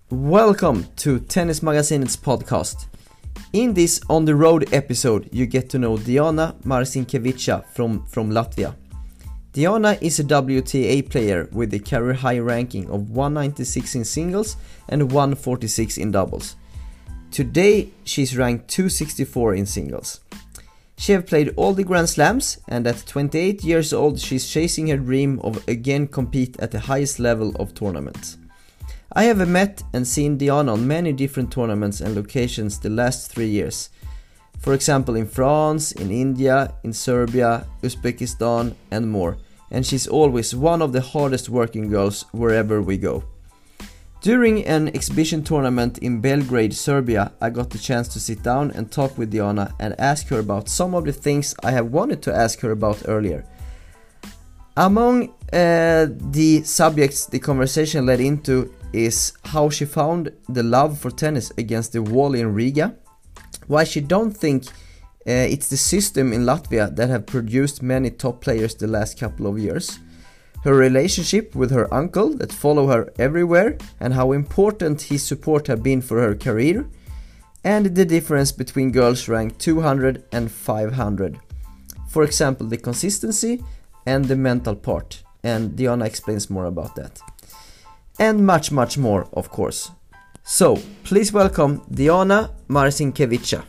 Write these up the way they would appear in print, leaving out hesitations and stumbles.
Welcome to Tennis Magazinet's podcast. In this On the Road episode, you get to know Diana Marcinkevica from Latvia. Diana is a WTA player with a career high ranking of 196 in singles and 146 in doubles. Today, she's ranked 264 in singles. She has played all the Grand Slams, and at 28 years old, she's chasing her dream of again compete at the highest level of tournaments. I have met and seen Diana on many different tournaments and locations the last 3 years. For example, in France, in India, in Serbia, Uzbekistan and more. And she's always one of the hardest working girls wherever we go. During an exhibition tournament in Belgrade, Serbia, I got the chance to sit down and talk with Diana and ask her about some of the things I have wanted to ask her about earlier. Among the subjects the conversation led into is how she found the love for tennis against the wall in Riga, why she don't think it's the system in Latvia that have produced many top players the last couple of years, her relationship with her uncle that follow her everywhere and how important his support have been for her career, and the difference between girls ranked 200 and 500. For example, the consistency and the mental part, and Diana explains more about that. And much more, of course. So, please welcome Diana Marcinkevica.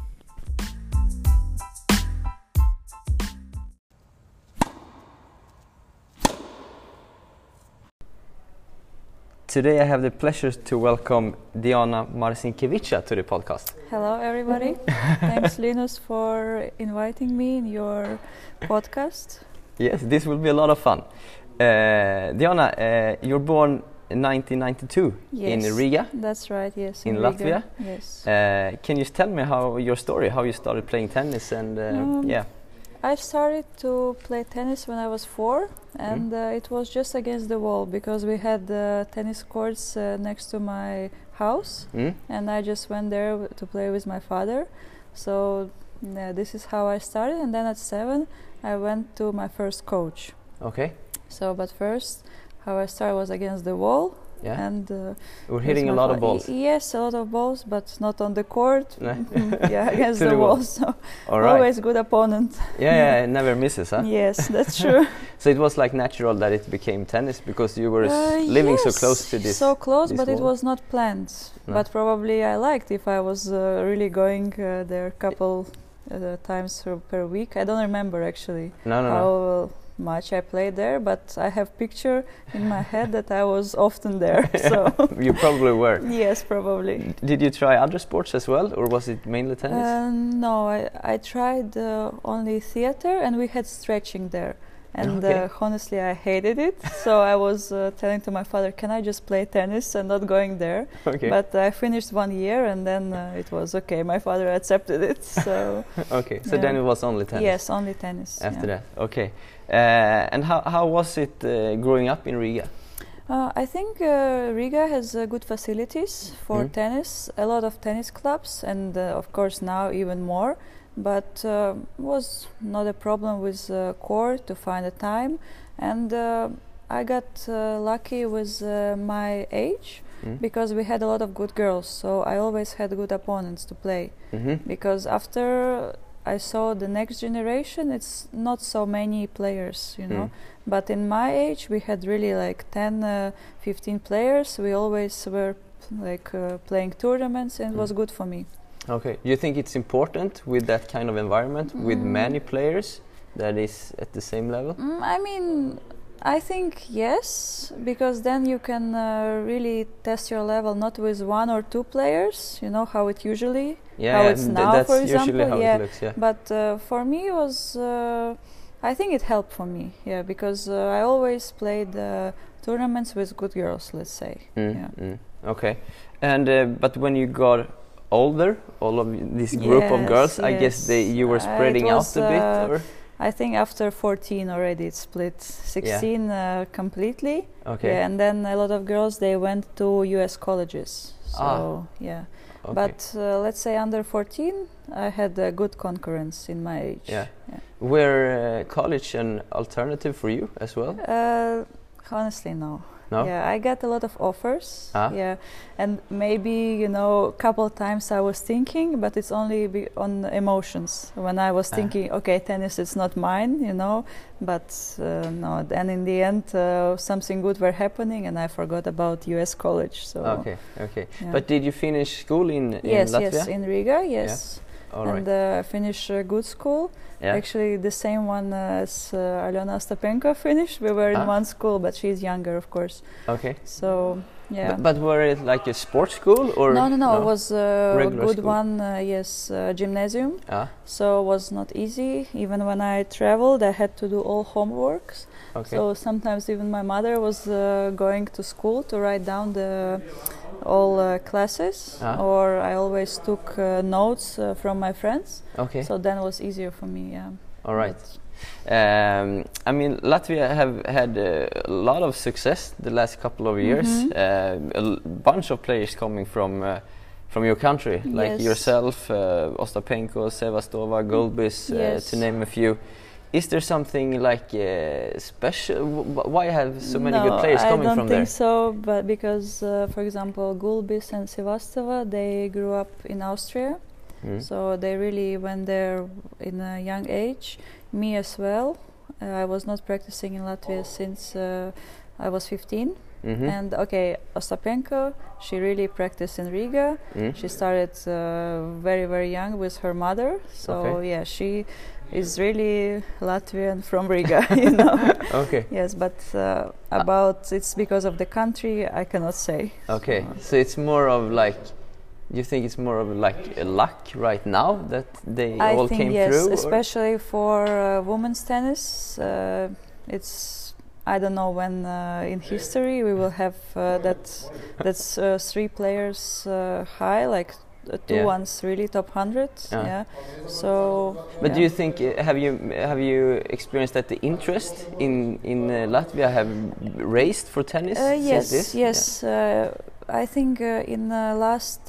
Today I have the pleasure to welcome Diana Marcinkevica to the podcast. Hello everybody. Thanks Linus for inviting me in your podcast. Yes, this will be a lot of fun. Diana, you're born in 1992 in Riga. That's right, yes. In Latvia. Yes. Can you tell me how you started playing tennis and I started to play tennis when I was 4 and it was just against the wall because we had tennis courts next to my house and I just went there to play with my father. So this is how I started, and then at 7 I went to my first coach. Okay. So, but first, how I started was against the wall. Yeah. And we're hitting a lot of balls. Yes, a lot of balls, but not on the court. Yeah, against the the wall. wall. So right. Always good opponent. Yeah, it never misses, huh? Yes, that's true. So it was like natural that it became tennis because you were living so close to this. So close, this but wall. It was not planned. No. But probably I liked if I was really going there a couple times per week. I don't remember actually how much I played there, but I have picture in my head that I was often there. So you probably were. Yes, probably. Did you try other sports as well, or was it mainly tennis? No, I tried only theater, and we had stretching there. And honestly, I hated it. So I was telling to my father, can I just play tennis and not going there? Okay. But I finished 1 year and then it was okay. My father accepted it. So okay, so then it was only tennis? Yes, only tennis. After that, okay. And how was it growing up in Riga? I think Riga has good facilities for tennis, a lot of tennis clubs, and of course now even more. But was not a problem with court to find a time, and I got lucky with my age because we had a lot of good girls, so I always had good opponents to play. Because after I saw the next generation, it's not so many players, you know. But in my age, we had really like 10, 15 players. We always were like playing tournaments, and it was good for me. Okay. Do you think it's important with that kind of environment, with many players that is at the same level? I mean, I think yes, because then you can really test your level not with 1 or 2 players, you know how it usually, how it's now, that's for example. Usually how it looks, yeah. But for me it was, I think it helped for me, because I always played tournaments with good girls, let's say. Okay. And but when you got older, all of this group of girls, I guess you were spreading out a bit, or? I think after 14 already it split. 16 completely. Okay. Yeah, and then a lot of girls, they went to US colleges. So yeah. Okay. But let's say under 14, I had a good concurrence in my age. Yeah. Were college an alternative for you as well? Honestly, no. No? Yeah, I got a lot of offers. Ah. Yeah, and maybe a couple of times I was thinking, but it's only on emotions. When I was thinking, okay, tennis is not mine, but no. Then in the end, something good were happening, and I forgot about U.S. college. So. Okay. Yeah. But did you finish school in Yes, Latvia? yes, in Riga, yes. Yeah. All right. And finish a good school. Yeah. Actually, the same one as Alyona Ostapenko finished. We were in one school, but she's younger, of course. Okay. So, yeah. But were it like a sports school or? No. It was a regular good school? one. Yes, gymnasium. Ah. So it was not easy. Even when I traveled, I had to do all homeworks. Okay. So sometimes even my mother was going to school to write down all classes, or I always took notes from my friends. Okay. So then it was easier for me. Yeah. All right. I mean, Latvia have had a lot of success the last couple of years. A bunch of players coming from your country, like yourself, Ostapenko, Sevastova, Gulbis, to name a few. Is there something like special? Why have so many good players coming from there? I don't think so, but because, for example, Gulbis and Sevastova, they grew up in Austria, so they really went there in a young age. Me as well. I was not practicing in Latvia since I was 15. And okay, Ostapenko, she really practiced in Riga. She started very, very young with her mother. So yeah, she is really Latvian from Riga, Okay. Yes, but about it's because of the country, I cannot say. Okay, so it's more of like, you think it's more of like a luck right now that they all came through? I think yes, especially for women's tennis. It's, I don't know when in history we will have that's 3 players high, like 2 ones really top 100. Yeah. So. But do you think have you experienced that the interest in Latvia have raised for tennis? Yes, since this? yes. I think in the last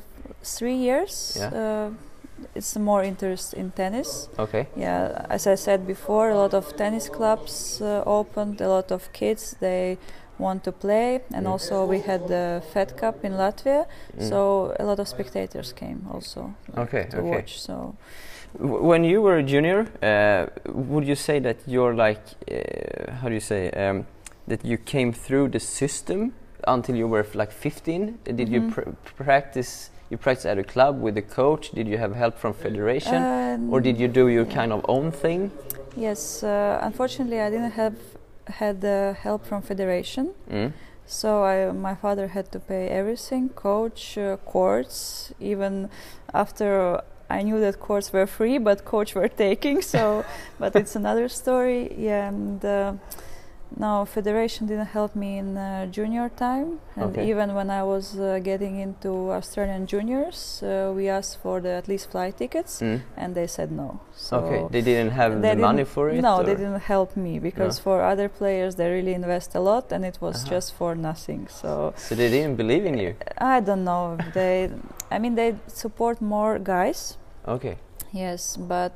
3 years. It's more interest in tennis. Okay. Yeah, as I said before, a lot of tennis clubs opened. A lot of kids they want to play, and also we had the Fed Cup in Latvia, so a lot of spectators came also to watch. So, when you were a junior, would you say that you're like, how do you say, that you came through the system until you were like 15? Did you practice? You practiced at a club with a coach? Did you have help from federation, or did you do your kind of own thing? Yes, unfortunately, I didn't have had help from federation. So my father had to pay everything, coach, courts. Even after I knew that courts were free, but coach were taking. So, but it's another story. Yeah, and. No, federation didn't help me in junior time, and even when I was getting into Australian juniors, we asked for at least flight tickets, and they said no. So they didn't have the money for it? No, they didn't help me, because for other players they really invest a lot, and it was just for nothing. So they didn't believe in you? I don't know. They support more guys. Okay. Yes, but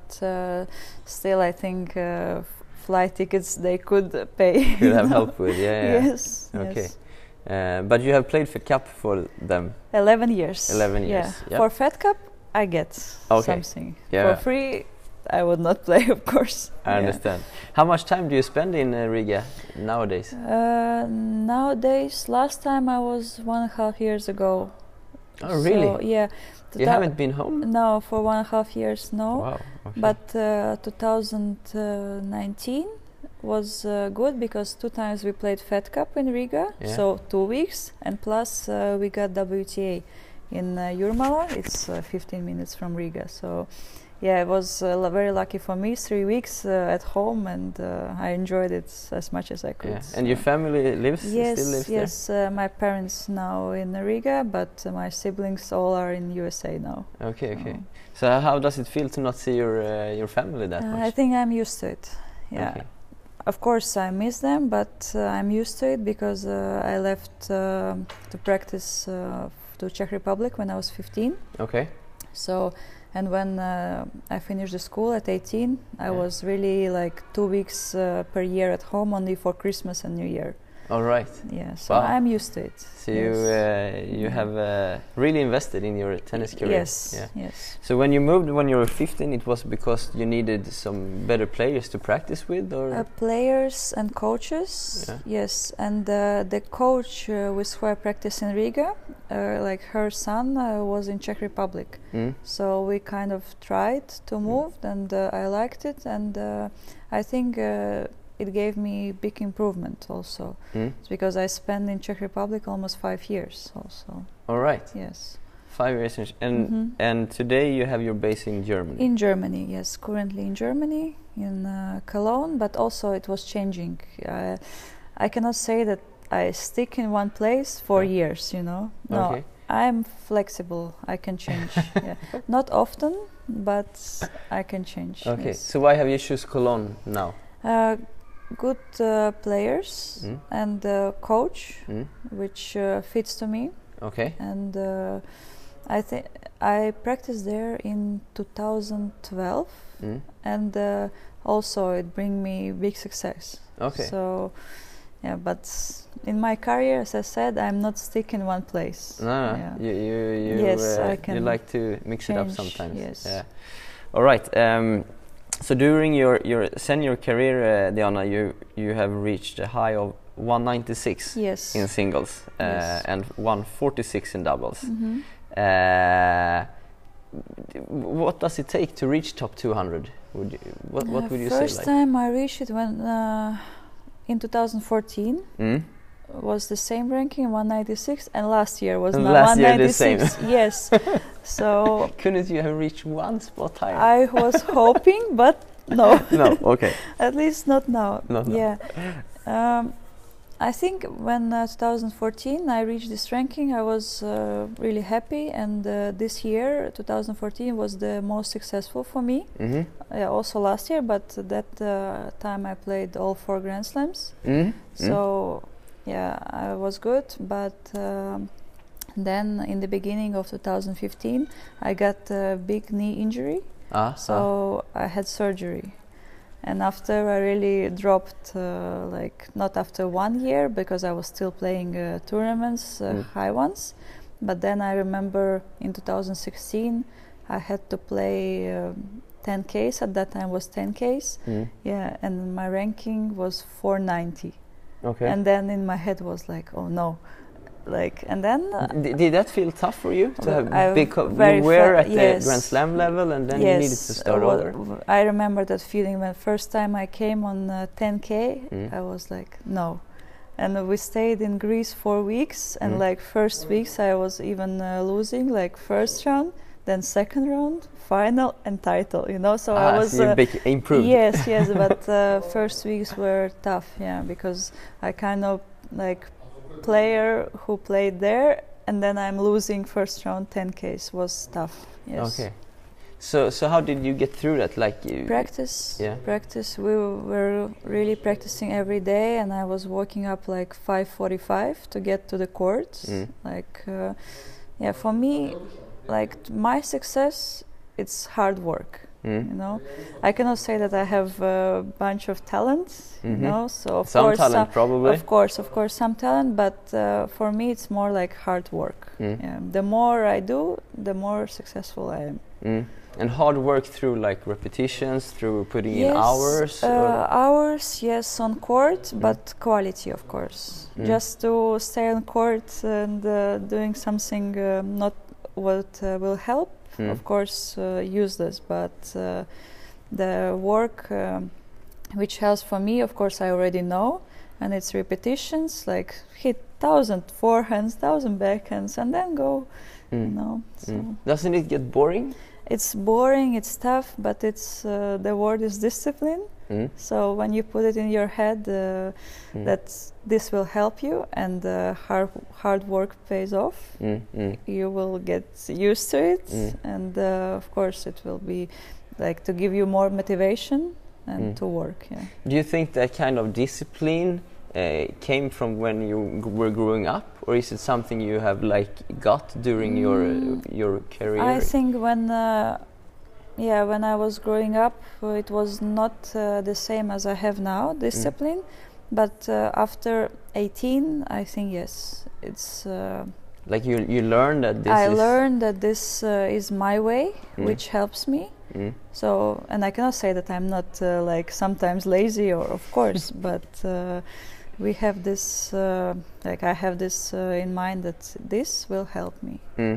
still I think flight tickets they could pay. Could have help with, Yes. Okay. Yes. But you have played Fed Cup for them? 11 years. 11 years. Yeah. For Fed Cup, I get something. Yeah. For free, I would not play, of course. I understand. How much time do you spend in Riga nowadays? Nowadays, last time I was 1.5 years ago. Oh, really? So, yeah. You haven't been home? No, for 1.5 years, no. Wow. Okay. But 2019 was good, because 2 times we played Fed Cup in Riga, so 2 weeks, and plus we got WTA in Jurmala. It's 15 minutes from Riga, so yeah, it was very lucky for me. 3 weeks at home, and I enjoyed it as much as I could. Yeah. And your family still lives there? Yes, my parents now in Riga, but my siblings all are in USA now. Okay. So how does it feel to not see your family that much? I think I'm used to it. Yeah. Okay. Of course, I miss them, but I'm used to it, because I left to practice to Czech Republic when I was 15. Okay. So. And when I finished the school at 18, I was really like 2 weeks per year at home, only for Christmas and New Year. All right. Yeah, so I'm used to it. So you have really invested in your tennis career. Yes. Yeah. Yes. So when you moved when you were 15, it was because you needed some better players to practice with, or players and coaches. Yeah. Yes, and the coach with who I practice in Riga, like her son was in Czech Republic. So we kind of tried to move, and I liked it, and I think it gave me big improvement also. It's because I spent in Czech Republic almost 5 years also. All right. Yes. 5 years, and today you have your base in Germany. In Germany, yes, currently in Germany, in Cologne, but also it was changing. I cannot say that I stick in one place for years, you know. No, okay. I'm flexible. I can change. Yeah. Not often, but I can change. Okay. Yes. So why have you choose Cologne now? Good players and coach, which fits to me. Okay. And I think I practiced there in 2012, and also it bring me big success. Okay. So, yeah, but in my career, as I said, I'm not stuck in one place. No. Yeah. Yes, I can. You like to mix it up sometimes. Yes. Yeah. All right. So during your senior career, Diana, you have reached a high of 196 in singles and 146 in doubles. What does it take to reach top 200? What would you say? First time I reached it when in 2014 was the same ranking, 196, and last year was 196. Yes. So couldn't you have reached one spot higher? I was hoping, but no. No. Okay. At least not now. Not now. Yeah. I think when 2014 I reached this ranking, I was really happy, and this year 2014 was the most successful for me. Yeah, also last year, but that time I played all 4 Grand Slams. So yeah, I was good, but then in the beginning of 2015 I got a big knee injury, so I had surgery. And after I really dropped, like not after 1 year, because I was still playing tournaments, high ones. But then I remember in 2016 I had to play 10Ks. At that time was 10Ks. Yeah, and my ranking was 490. Okay. And then in my head was like, oh no. Like, and then did that feel tough for you to have you were at the Grand Slam level, and then you needed to start over? I remember that feeling when first time I came on 10K. I was like, no. And we stayed in Greece 4 weeks, and like first weeks I was even losing, like first round, then second round, final, and title, you know. So I was so big improved. Yes, but first weeks were tough, because I kind of like player who played there, and then I'm losing first round 10Ks was tough. Yes. Okay. So how did you get through that? Like practice. Yeah. Practice. We were really practicing every day, and I was waking up like 5:45 to get to the court. Like, for me, like my success, it's hard work. You know, I cannot say that I have a bunch of talent. You know, so of some course, talent probably. Of course, some talent. But for me, it's more like hard work. The more I do, the more successful I am. And hard work through like repetitions, through putting in hours. Hours, yes, on court, but quality, of course. Just to stay on court and doing something not what will help. Of course, useless, but the work which helps for me, of course, I already know, and it's repetitions, like hit 1,000 forehands, 1,000 backhands, and then go. You know. So doesn't it get boring? It's boring. It's tough, but it's the word is discipline. So when you put it in your head that this will help you, and hard work pays off, you will get used to it, and of course it will be like to give you more motivation and to work. Yeah. Do you think that kind of discipline came from when you were growing up, or is it something you have like got during your career? I think when I was growing up, it was not the same as I have now, discipline. but after 18, I think yes, it's. Like you learn that this I is... learned that this is my way, which helps me. So, and I cannot say that I'm not like sometimes lazy, or of course, but we have this, like I have this in mind that this will help me.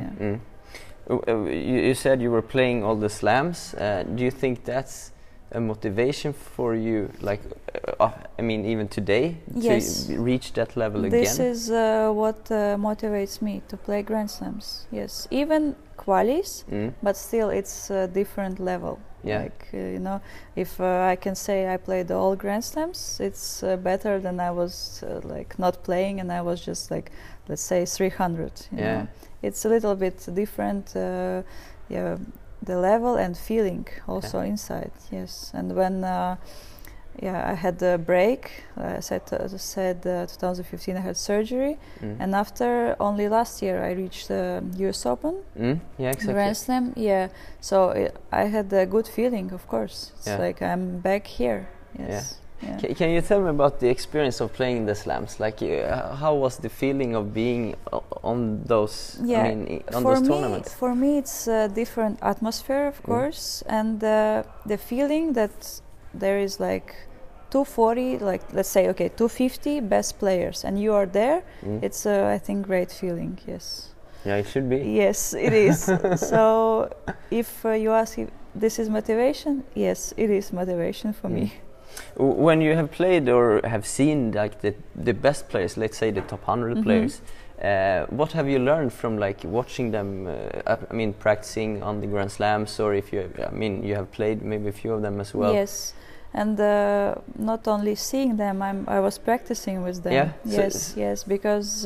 You said you were playing all the slams. Do you think that's a motivation for you, like I mean even today, yes, to reach that level this again? This is what motivates me to play Grand Slams. Yes, even qualis, but still it's a different level. Yeah. Like you know, if I can say I played all Grand Slams, it's better than I was like not playing, and I was just like, let's say 300. You know? It's a little bit different. Yeah. The level and feeling also inside, yes. And when I had a break, I said 2015 I had surgery, and after only last year I reached the US Open, yeah, exactly. Grand Slam, yeah. So I had a good feeling, of course. It's like I'm back here, yes. Yeah. Can you tell me about the experience of playing the slams? Like, how was the feeling of being on those? I mean, on those tournaments. For me, it's a different atmosphere, of course, and the feeling that there is like 240, like let's say, 250 best players, and you are there. It's I think great feeling. Yes. Yeah, it should be. Yes, it is. So, if you ask if this is motivation, yes, it is motivation for me. When you have played or have seen like the best players, let's say the top 100 players, what have you learned from like watching them? I mean, practicing on the Grand Slams, or if you, I mean, you have played maybe a few of them as well. Yes, and not only seeing them, I was practicing with them. Yeah. Yes, because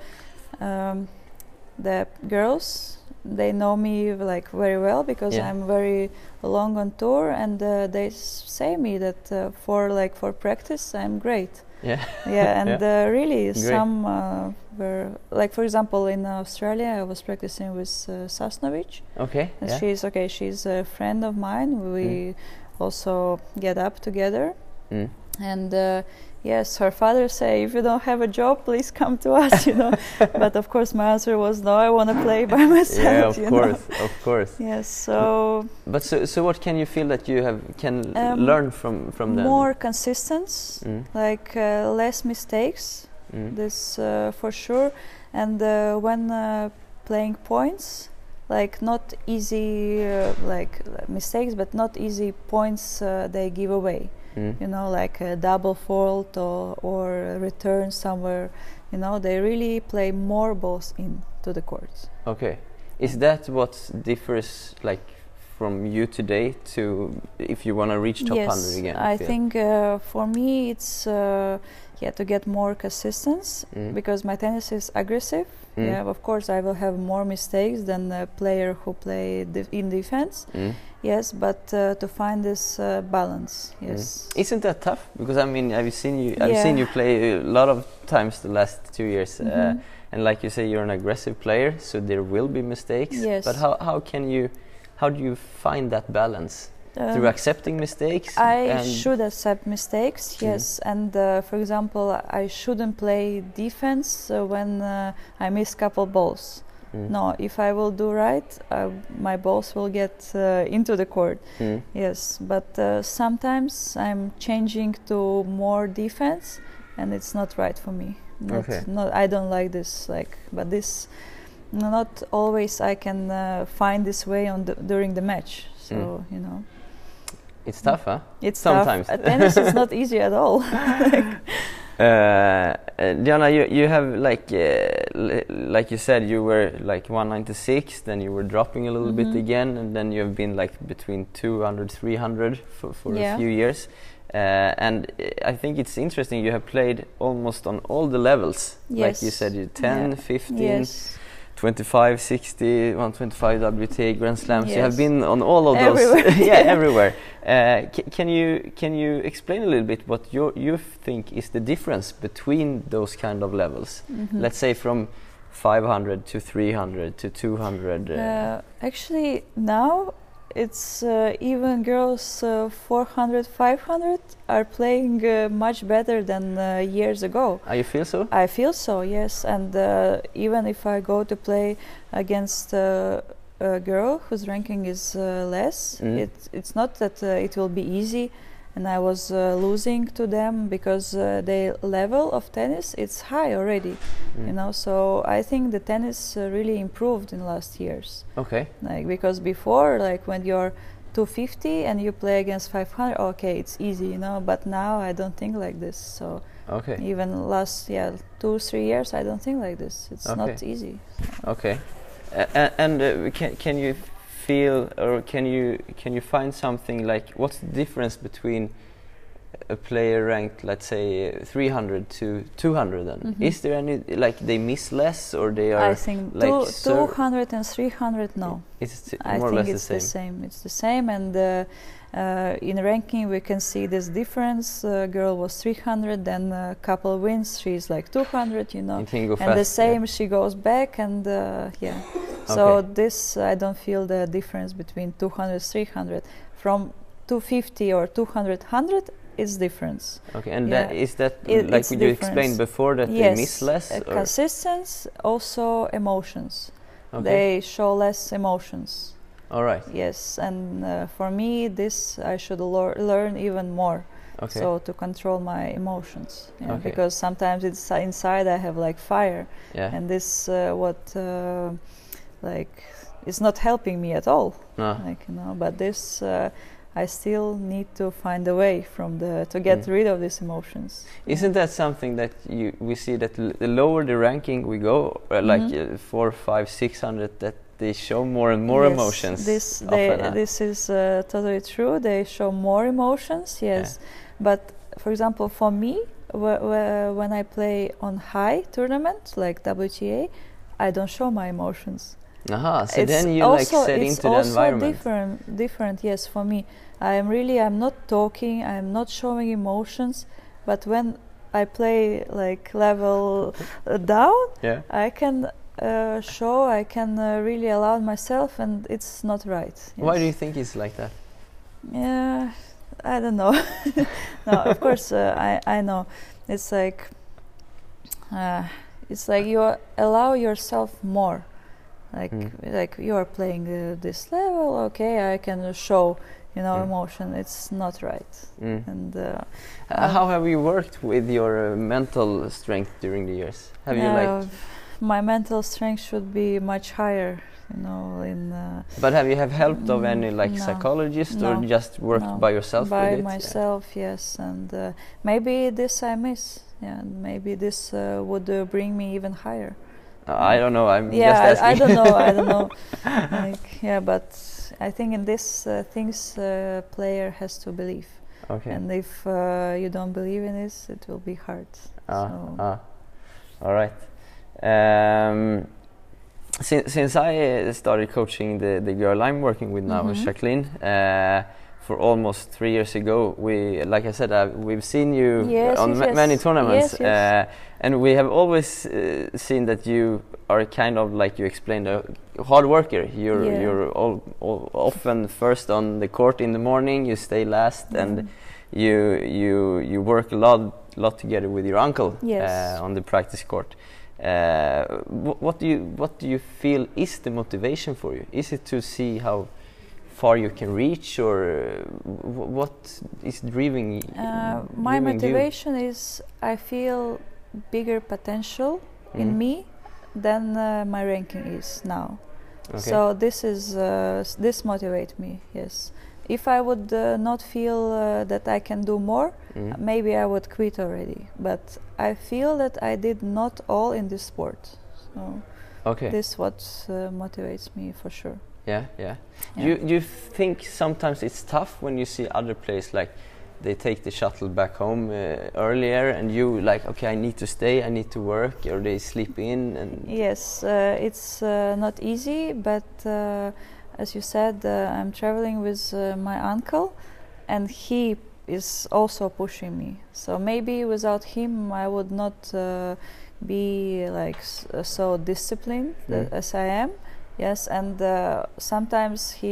the girls, they know me like very well, because I'm very long on tour, and they say me that for practice I'm great. Yeah. Yeah, and really some were like, for example, in Australia I was practicing with Sasnovic. Okay. And she's a friend of mine. We also get up together. And yes, her father say, if you don't have a job, please come to us, you know. But of course my answer was no, I want to play by myself. Yeah, of course. Yes, so. But so what can you feel that you can learn from them? More consistency, like less mistakes. This for sure. And when playing points, like not easy like mistakes, but not easy points they give away. You know, like a double fault or a return somewhere. You know, they really play more balls into the court. Okay. Is that what differs, like, from you today to if you want to reach top 100 again? I think for me it's to get more consistency, because my tennis is aggressive. Yeah, of course I will have more mistakes than a player who play in defense. Yes, but to find this balance. Yes. Isn't that tough? Because I mean, I've seen you play a lot of times the last 2 years, and like you say, you're an aggressive player, so there will be mistakes. Yes. But how do you find that balance? Through accepting mistakes? I should accept mistakes, yes. And for example, I shouldn't play defense when I miss couple balls. No, if I will do right, my balls will get into the court. Yes, but sometimes I'm changing to more defense, and it's not right for me. I don't like this. But this, not always I can find this way during the match. So you know. It's tough, huh? It's sometimes. Tough. Tennis is not easy at all. Diana, you have like you said, you were like 196, then you were dropping a little bit again, and then you have been like between 200, 300 for a few years. And I think it's interesting, you have played almost on all the levels. Yes. Like you said, you 10, 15, 25, 60, 125 WTA Grand Slams. Yes. You have been on all of those. Everywhere. Everywhere. Can you explain a little bit what you think is the difference between those kind of levels? Let's say from 500 to 300 to 200. Actually, now it's even girls 400, 500 are playing much better than years ago. You feel so? I feel so, yes. And even if I go to play against a girl whose ranking is less, it's not that it will be easy. And I was losing to them because their level of tennis it's high already, you know. So I think the tennis really improved in last years. Okay. Like because before, like when you're 250 and you play against 500, okay, it's easy, you know. But now I don't think like this. So okay. Even last 2-3 years, I don't think like this. It's not easy. Okay. And can you feel, or can you find something like what's the difference between a player ranked, let's say 300 to 200 then? Is there any, like they miss less, or they are, I think like 200 and 300 no. It's I more or think less it's the same. It's the same, and in ranking we can see this difference. Girl was 300, then a couple wins she's like 200, you know, You can go and the fast, same she goes back, and so this I don't feel the difference between 200 300. From 250 or 200 100 is difference. Okay, and that like you explained before, that they miss less? Consistency, also emotions. Okay. They show less emotions. All right. Yes, and for me, this I should learn even more. Okay. So to control my emotions, Okay. because sometimes it's inside I have like fire, Yeah. and this like it's not helping me at all. No. Like, you know, but this I still need to find a way to get rid of these emotions. Isn't that something that we see that the lower the ranking we go, like 400, 500, 600, that they show more and more emotions? This is totally true. They show more emotions, yes. Yeah. But for example, for me, when I play on high tournament like WTA, I don't show my emotions. Aha, so then you like set into the environment. It's also different, yes, for me. I'm not talking, I'm not showing emotions, but when I play like level down, I can show, I can really allow myself, and it's not right. Yes. Why do you think it's like that? Yeah, I don't know. No, of course, I know. It's like you allow yourself more. Like you are playing this level, okay, I can show, you know, emotion. It's not right. And how have you worked with your mental strength during the years? Have you my mental strength should be much higher, you know. But have you help of any psychologist, or just worked by yourself? By myself, yes. And maybe this I miss. Yeah, maybe this would bring me even higher. I don't know. I'm just asking. I don't know. I don't know. But I think in this things player has to believe. Okay. And if you don't believe in this, it will be hard. All right. Since I started coaching the girl I'm working with now, Jacqueline, for almost 3 years ago, like I said, we've seen you on many tournaments, and we have always seen that you are kind of, like you explained, a hard worker. You're often first on the court in the morning. You stay last, and you work a lot together with your uncle on the practice court. What do you feel is the motivation for you? Is it to see how far you can reach, or what is driving my motivation is I feel bigger potential in me than my ranking is now. Okay. So this motivates me. Yes, if I would not feel that I can do more, maybe I would quit already. But I feel that I did not all in this sport. So this what motivates me for sure. Yeah. You think sometimes it's tough when you see other players, like they take the shuttle back home earlier, and you like, okay, I need to stay, I need to work, or they sleep in? And yes, it's not easy, but as you said, I'm traveling with my uncle, and he is also pushing me. So maybe without him I would not be like so disciplined as I am. Yes, and sometimes he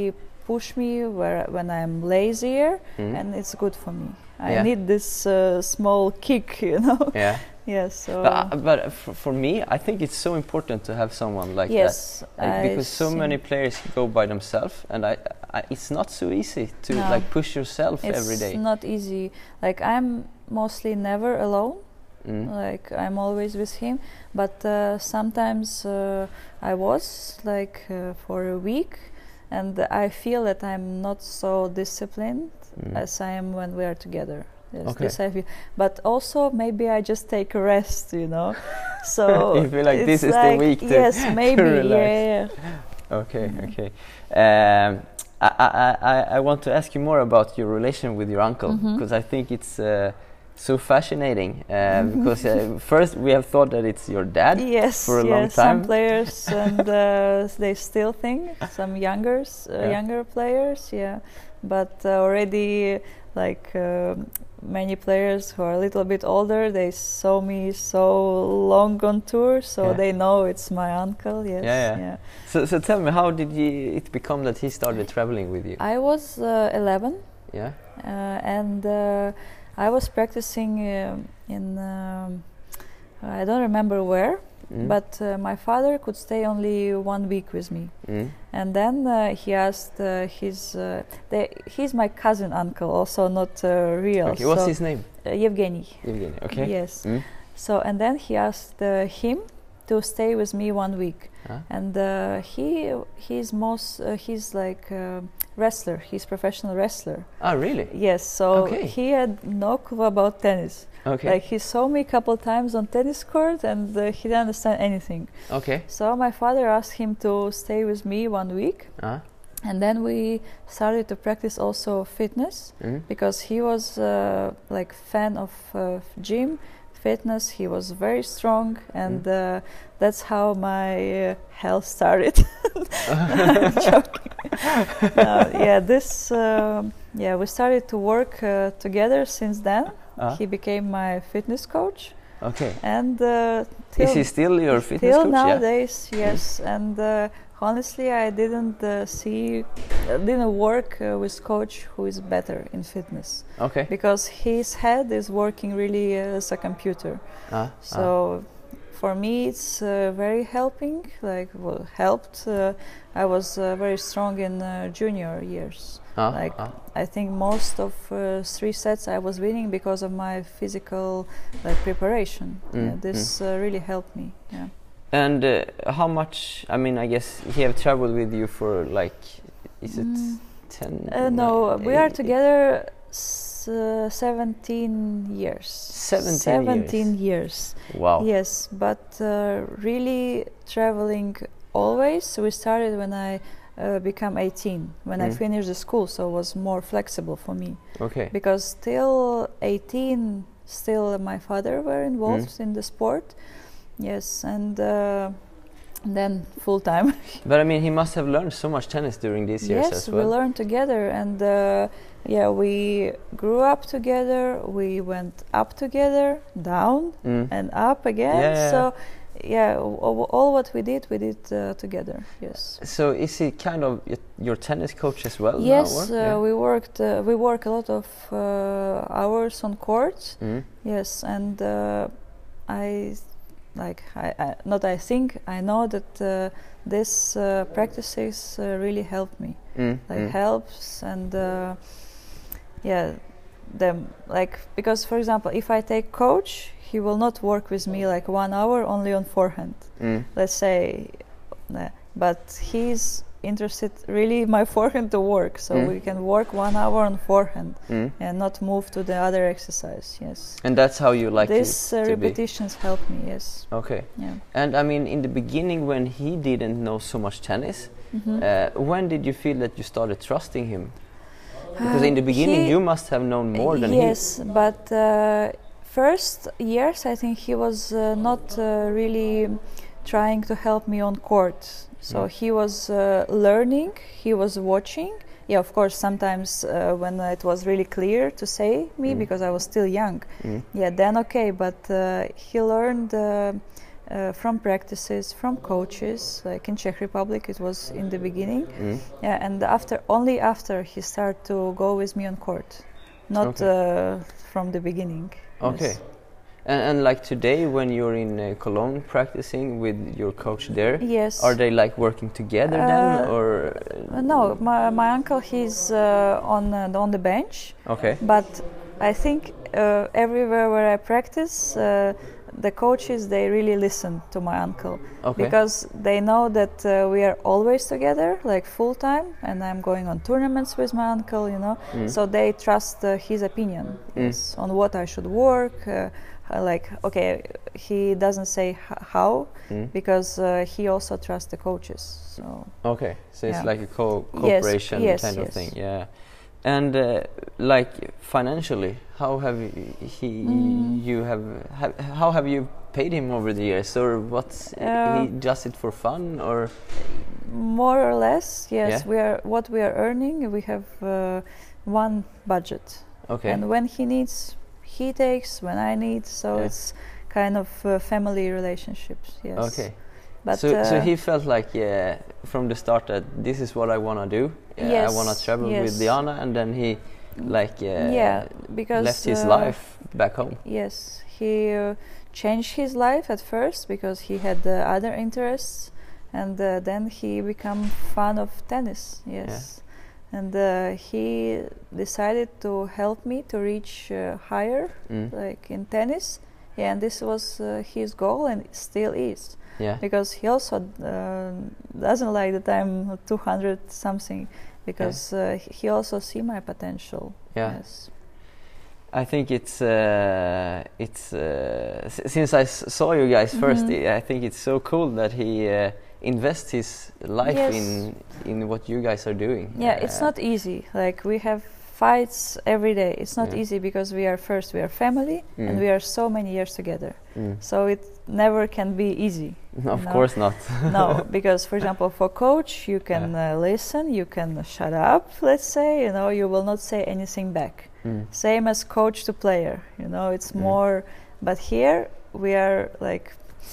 push me when I'm lazier, and it's good for me. I need this small kick, you know. Yeah. Yes. So But for me, I think it's so important to have someone like yes, that, because so many players go by themselves, and it's not so easy to like push yourself every day. It's not easy. Like I'm mostly never alone. Like I'm always with him, but sometimes I was like for a week, and I feel that I'm not so disciplined as I am when we are together. Yes, this I feel. But also maybe I just take a rest, you know. So you feel like this is the week yes, maybe to relax. Yeah. Okay. I want to ask you more about your relation with your uncle, because I think it's so fascinating. Because first we have thought that it's your dad for a long time. Some players and they still think some younger players, but already like many players who are a little bit older, they saw me so long on tour, so they know it's my uncle. So tell me, how did it become that he started traveling with you? I was 11, and I was practicing in I don't remember where, but my father could stay only 1 week with me, and then he asked he's my cousin uncle, also not real. Okay, what's his name? Evgeny. Evgeny. Okay. Yes. So and then he asked him to stay with me 1 week, and he's like wrestler. He's professional wrestler. Oh, really? Yes. So he had no clue about tennis. Okay. Like he saw me a couple times on tennis court, and he didn't understand anything. Okay. So my father asked him to stay with me 1 week, and then we started to practice also fitness, because he was like fan of gym, fitness. He was very strong, and that's how my health started. I'm joking. We started to work together since then. He became my fitness coach. Okay. And is he still your fitness coach? Till nowadays, yes. And honestly, I didn't work with coach who is better in fitness. Okay. Because his head is working really as a computer. So for me, it's very helping. Helped. I was very strong in junior years. I think most of 3 sets I was winning because of my physical preparation. This really helped me. Yeah. And how much? I mean, I guess he have traveled with you for is it 10? No, we are together 17 years. 17 years. Wow. Yes, but really traveling always. We started when I became 18, when I finished the school, so it was more flexible for me. Okay. Because till 18, still my father were involved in the sport. Yes, and then full time. But I mean, he must have learned so much tennis during these years as well. Yes, we learned together, and we grew up together. We went up together, down, and up again. So, all what we did together. Yes. So, is he kind of your tennis coach as well? Yes, we worked. We work a lot of hours on court. Yes, and I know that this practices really helped me. Helps, and because for example, if I take coach, he will not work with me 1 hour only on forehand. Let's say, but he's interested really in my forehand to work, so we can work 1 hour on forehand and not move to the other exercise. Yes. And that's how you like this to repetitions help me. Yes. Okay. Yeah. And I mean, in the beginning, when he didn't know so much tennis, when did you feel that you started trusting him? Because in the beginning, you must have known more than he. Yes, but first years, I think he was not really trying to help me on court. So he was learning, he was watching. Yeah, of course, sometimes when it was really clear to say me, because I was still young, then okay, but he learned from practices, from coaches. Like in Czech Republic, it was in the beginning. Yeah, and only after he started to go with me on court, not from the beginning. Okay. Yes. And like today, when you're in Cologne practicing with your coach there, Yes. are they like working together then, or? No, my uncle, he's on the bench. Okay. But I think everywhere where I practice, the coaches, they really listen to my uncle. Okay. Because they know that we are always together, like full time, and I'm going on tournaments with my uncle, you know. So they trust his opinion yes, on what I should work. Like, okay, he doesn't say how because he also trusts the coaches. So okay, so it's like a cooperation kind of thing, yeah. And like financially, how have how have you paid him over the years, or what's he does it for fun, or? More or less, yes. Yeah. What we are earning, we have one budget. Okay. And when he needs, he takes. When I need, so it's kind of family relationships. Yes. Okay. But so he felt like from the start that this is what I want to do. Yes, I want to travel with Diana, and then he because left his life back home. Yes, he changed his life at first because he had other interests, and then he became fan of tennis. Yes, and he decided to help me to reach higher, like in tennis. Yeah, and this was his goal, and it still is. Yeah. Because he also doesn't like that I'm 200 something, because he also see my potential. Yeah. Yes. I think it's since I saw you guys first, I think it's so cool that he invests his life in what you guys are doing. Yeah, it's not easy. Like we have fights every day. It's not easy because we are family and we are so many years together. So it never can be easy. Of course not. No, because for example, for coach, you can listen, you can shut up, let's say, you know, you will not say anything back. Same as coach to player, you know, it's more, but here we are like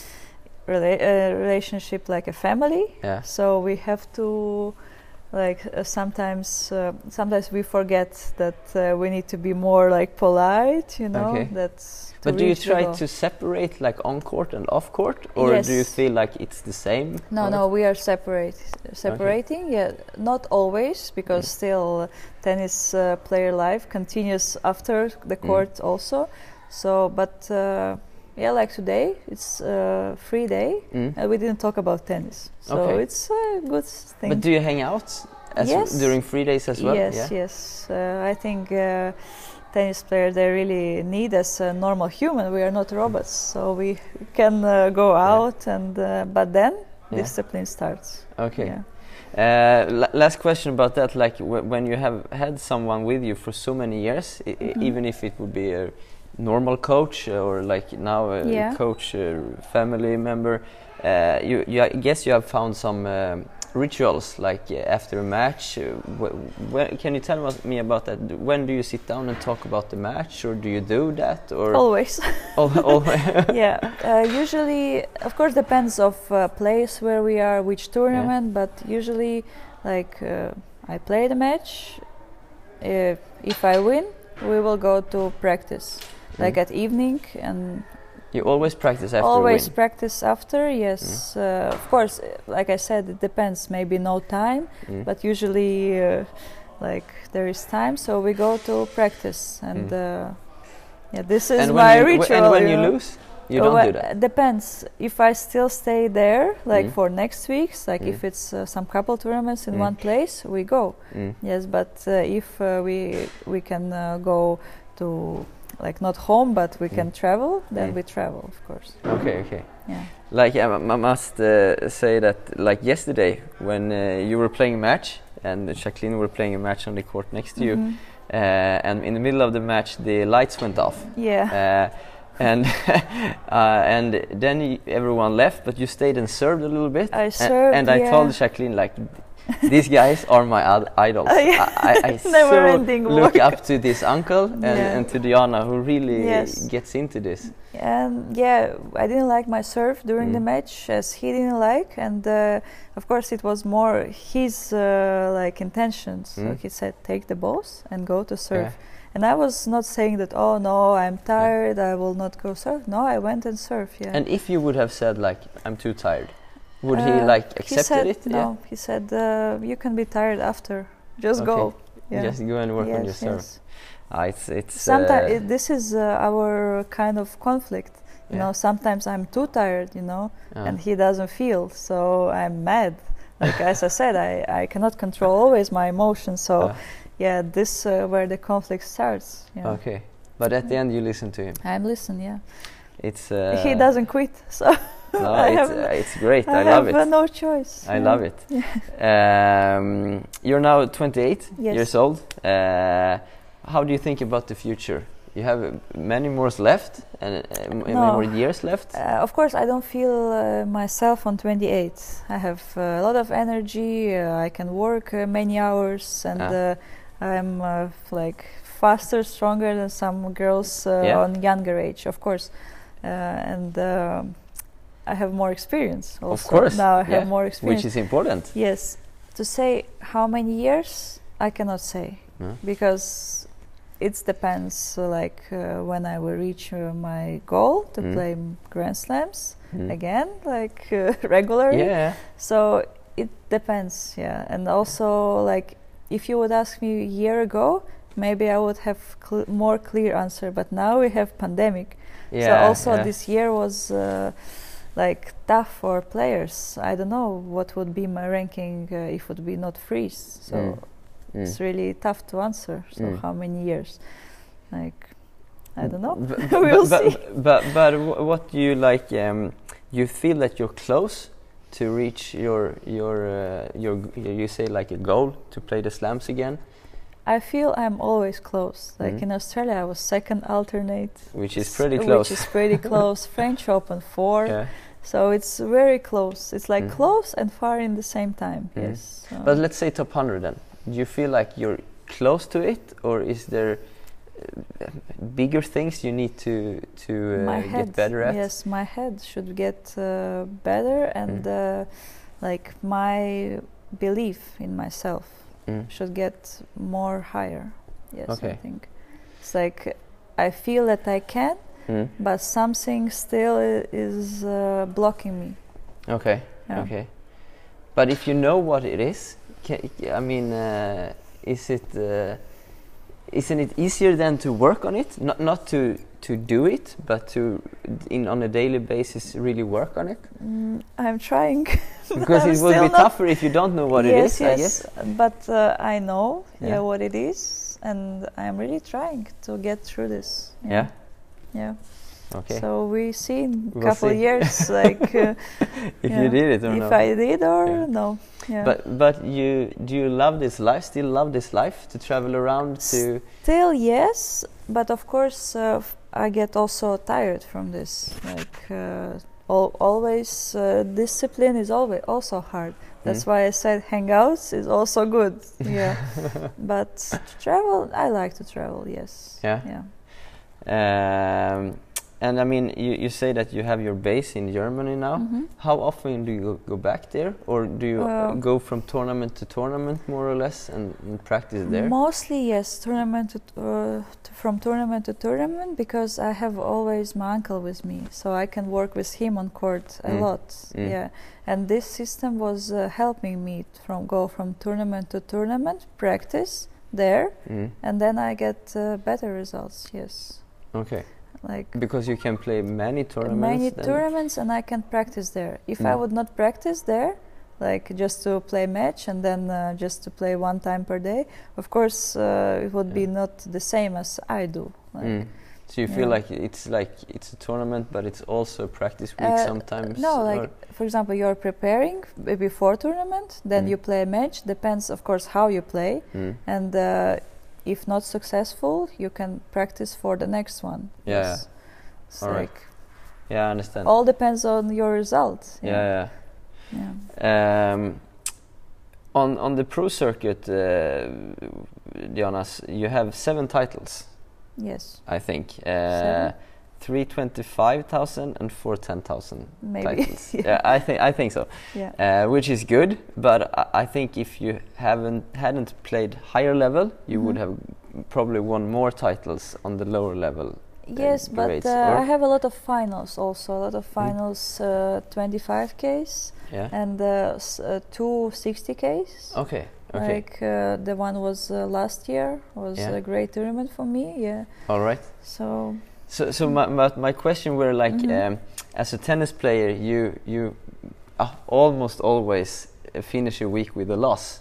relationship like a family. Yeah. So we have to sometimes we forget that we need to be more like polite, you know. Okay. But do you try to separate like on court and off court, or do you feel like it's the same? No, we are separating. Okay. Yeah, not always, because still tennis player life continues after the court also. So, but like today, it's a free day, and we didn't talk about tennis. So it's a good thing. But do you hang out during free days as well? Yes. I think tennis players, they really need us a normal human. We are not robots, so we can go out, and but then discipline starts. Okay. Yeah. Last question about that. Like when you have had someone with you for so many years, even if it would be a normal coach or like now a coach, family member, I guess you have found some rituals like after a match. Can you tell me about that? When do you sit down and talk about the match, or do you do that? Or always. Always. Yeah. Usually, of course, depends of place where we are, which tournament. But usually, like I play the match. If I win, we will go to practice, like at evening. And you always practice after always practice after, yes. Of course, like I said, it depends. Maybe no time, but usually like there is time, so we go to practice. And this is my ritual. And when you lose, you don't do that? Depends. If I still stay there, like for next weeks, like if it's some couple tournaments in one place, we go. Yes, but if we can go to, like not home, but we can travel, then we travel, of course. Okay. Yeah. Like I must say that, like yesterday, when you were playing a match and Jacqueline were playing a match on the court next to you, and in the middle of the match the lights went off. Yeah. And then everyone left, but you stayed and served a little bit. I served, and I told Jacqueline, like, these guys are my idols. I Never-ending so look work. up to this uncle and to Diana, who really gets into this. And I didn't like my serve during the match, as he didn't like, and of course it was more his like intentions. So he said, take the balls and go to serve. And I was not saying that, oh no, I'm tired, I will not go serve. No, I went and served. And if you would have said like, I'm too tired, would he like accepted it? No, he said, you can be tired after. Just go. Just go and work on your serve. It's sometimes this is our kind of conflict. You know, sometimes I'm too tired, you know, and he doesn't feel, so I'm mad. Like as I said, I cannot control always my emotions, so this where the conflict starts. Okay, but at the end you listen to him. I'm listening. It's he doesn't quit, so no, it's great. I love it. I have no choice. I love it. You're now 28 years old. How do you think about the future? You have many more left and many more years left. Of course, I don't feel myself on 28. I have a lot of energy. I can work many hours, and I'm like faster, stronger than some girls on younger age. Of course, and I have more experience. Also. Of course, now I have more experience, which is important. Yes, to say how many years I cannot say because. It depends, like when I will reach my goal to play Grand Slams again, like regularly. So it depends, and also like if you would ask me a year ago, maybe I would have more clear answer. But now we have pandemic, so also this year was like tough for players. I don't know what would be my ranking if it would be not freeze. So. It's really tough to answer. So how many years? Like, I don't know. We'll see. But what do you like? You feel that you're close to reach your you say like a goal to play the slams again. I feel I'm always close. Like in Australia, I was second alternate, which is pretty close. Which is pretty close. French Open 4. So it's very close. It's like close and far in the same time. Yes. But let's say top 100 then. Do you feel like you're close to it, or is there bigger things you need to get better at? Yes, my head should get better, and like my belief in myself should get more higher. Yes, I think it's like I feel that I can, but something still is blocking me. Okay. But if you know what it is. I mean, isn't it easier then to work on it? Not to do it, but to on a daily basis really work on it? I'm trying. Because it will be tougher if you don't know what it is, I guess. But I know what it is, and I'm really trying to get through this. Yeah. Okay. So we see in a couple of years, like if you did it or if no. I did or no. But do you love this life? Still love this life to travel around to? Still yes, but of course I get also tired from this. Like always, discipline is always also hard. That's why I said hangouts is also good. But to travel, I like to travel. Yes. And I mean, you say that you have your base in Germany now. How often do you go back there, or do you go from tournament to tournament more or less and practice there? Mostly yes, from tournament to tournament, because I have always my uncle with me, so I can work with him on court a lot. And this system was helping me go from tournament to tournament, practice there, and then I get better results. Yes. Okay. Like because you can play many tournaments. And I can practice there. If I would not practice there, like just to play match and then just to play one time per day, of course it would be not the same as I do. Like, so you feel like it's a tournament, but it's also a practice week sometimes. No, like for example, you're preparing before tournament, then you play a match. Depends, of course, how you play, and if not successful, you can practice for the next one. Yes. All right. I understand. All depends on your results. On the pro circuit, Diana, you have 7 titles. Yes. I think 7? 325,000 and 410,000 Maybe. titles. Yeah, I think so. Yeah. Which is good, but I think if you hadn't played higher level, you would have probably won more titles on the lower level. Yes, but grades, I have a lot of finals also. A lot of finals, 25Ks and 2 60Ks. Okay. Like the one was last year was a great tournament for me. Yeah. All right. So my question were like, as a tennis player, you almost always finish a week with a loss.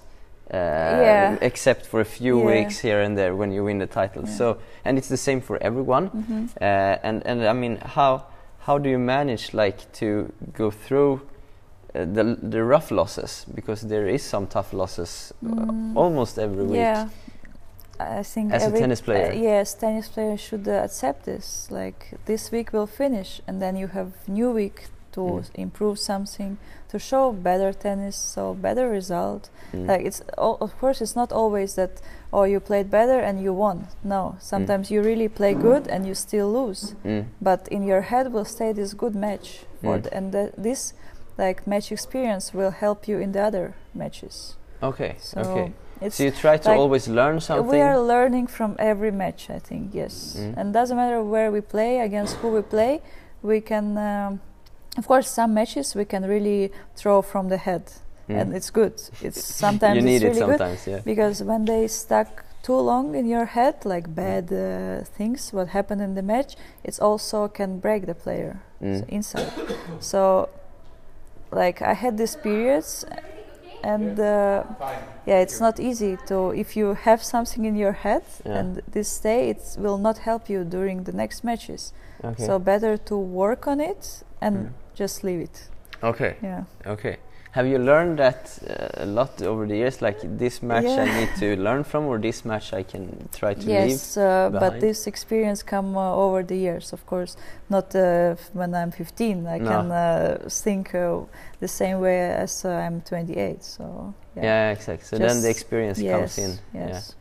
Except for a few weeks here and there when you win the title. So, and it's the same for everyone. And I mean, how do you manage like to go through the rough losses, because there is some tough losses almost every week? Yeah, I think as a tennis player, yes, tennis players should accept this. Like this week will finish, and then you have new week to improve something, to show better tennis, so better result. Like it's of course it's not always that you played better and you won. No, sometimes you really play good and you still lose. But in your head will stay this good match for this like match experience will help you in the other matches. Okay. So so you try to like always learn something. We are learning from every match, I think. Yes, and doesn't matter where we play, against who we play, we can. Of course, some matches we can really throw from the head, and it's good. It's sometimes you need it's really it sometimes, good because when they stuck too long in your head, like bad things, what happened in the match, it also can break the player inside. So, like I had these periods, and it's not easy to if you have something in your head and this stay, it will not help you during the next matches. Okay. So better to work on it and just leave it. Okay. Yeah. Okay. Have you learned that a lot over the years? Like this match I need to learn from, or this match I can try to leave? Yes, but this experience come over the years, of course. Not when I'm 15. I can think the same way as I'm 28. So yeah, exactly. So then the experience comes in. Yes.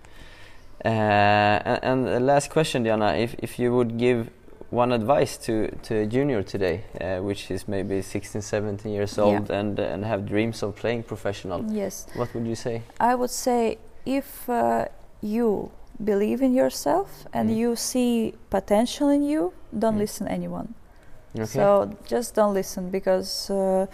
Yeah. And the last question, Diana, if you would give one advice to a junior today, which is maybe 16, 17 years old and have dreams of playing professional. Yes. What would you say? I would say if you believe in yourself and you see potential in you, don't listen to anyone. Okay. So just don't listen, because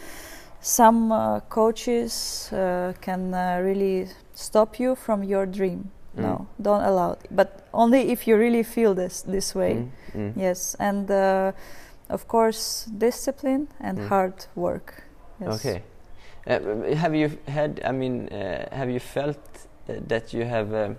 some coaches can really stop you from your dream. No, don't allow it. But only if you really feel this way. Yes, and of course discipline and hard work. Yes. Okay. Have you had? I mean, have you felt that you have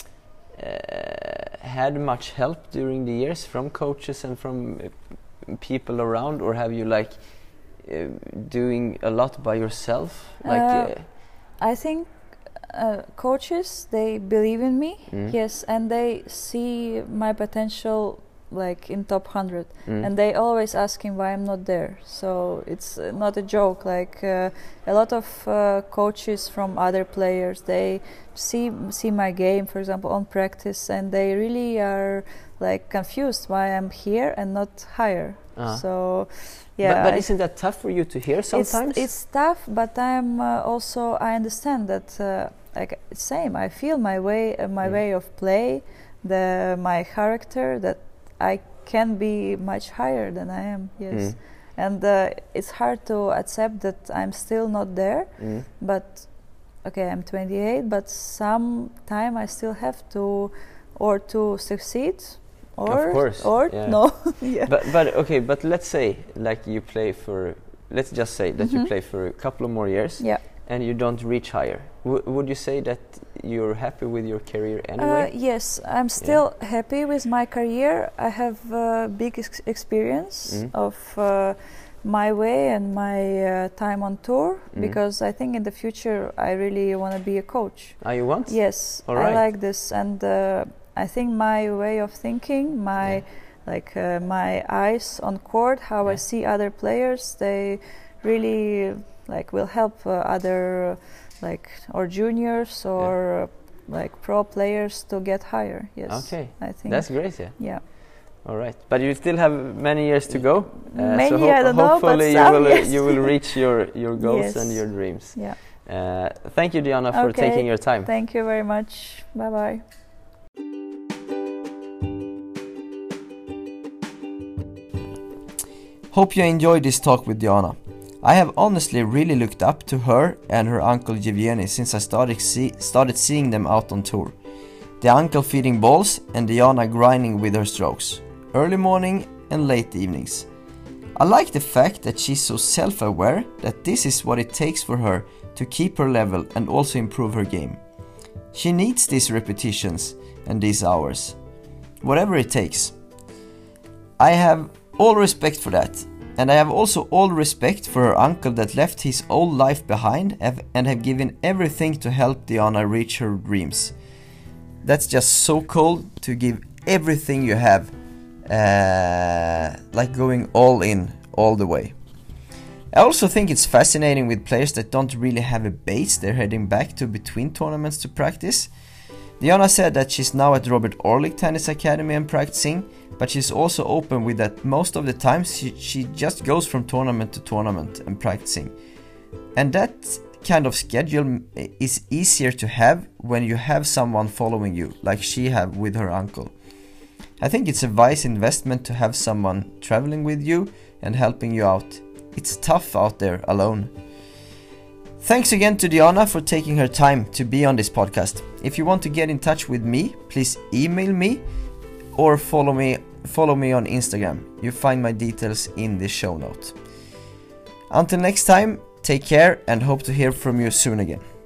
had much help during the years from coaches and from people around, or have you like doing a lot by yourself? Like, I think. Coaches, they believe in me, yes, and they see my potential like in top 100, and they always asking why I'm not there. So it's not a joke. Like a lot of coaches from other players, they see my game, for example, on practice, and they really are like confused why I'm here and not higher. So yeah, but isn't that tough for you to hear sometimes? It's tough, but I'm also I understand that like same. I feel my way of play, my character, that I can be much higher than I am. Yes, and it's hard to accept that I'm still not there. But okay, I'm 28, but some time I still have to succeed. Of course. No. But okay, but let's say like you play for, let's just say that you play for a couple of more years, and you don't reach higher. Would you say that you're happy with your career anyway? Yes, I'm still happy with my career. I have big experience of my way and my time on tour, because I think in the future I really want to be a coach. You want? Yes, I like this, and I think my way of thinking, my my eyes on court, how I see other players, they really will help other like or juniors or like pro players to get higher. Yes. Okay. I think That's great. Yeah. Yeah. All right, but you still have many years to go. Many, so I don't know, but hopefully some, yes. you will reach your goals Yes. and your dreams. Yeah. Thank you, Diana, for Okay. taking your time. Thank you very much. Bye bye. Hope you enjoyed this talk with Diana. I have honestly really looked up to her and her uncle Yevgeny since I started seeing them out on tour. The uncle feeding balls and Diana grinding with her strokes, early morning and late evenings. I like the fact that she's so self-aware that this is what it takes for her to keep her level and also improve her game. She needs these repetitions and these hours, whatever it takes. I have all respect for that, and I have also all respect for her uncle that left his old life behind and have given everything to help Diana reach her dreams. That's just so cool to give everything you have, like going all in, all the way. I also think it's fascinating with players that don't really have a base they're heading back to between tournaments to practice. Diana said that she's now at Robert Orlik Tennis Academy and practicing, but she's also open with that most of the time she just goes from tournament to tournament and practicing. And that kind of schedule is easier to have when you have someone following you, like she have with her uncle. I think it's a wise investment to have someone traveling with you and helping you out. It's tough out there alone. Thanks again to Diana for taking her time to be on this podcast. If you want to get in touch with me, please email me or follow me on Instagram. You find my details in the show note. Until next time, take care and hope to hear from you soon again.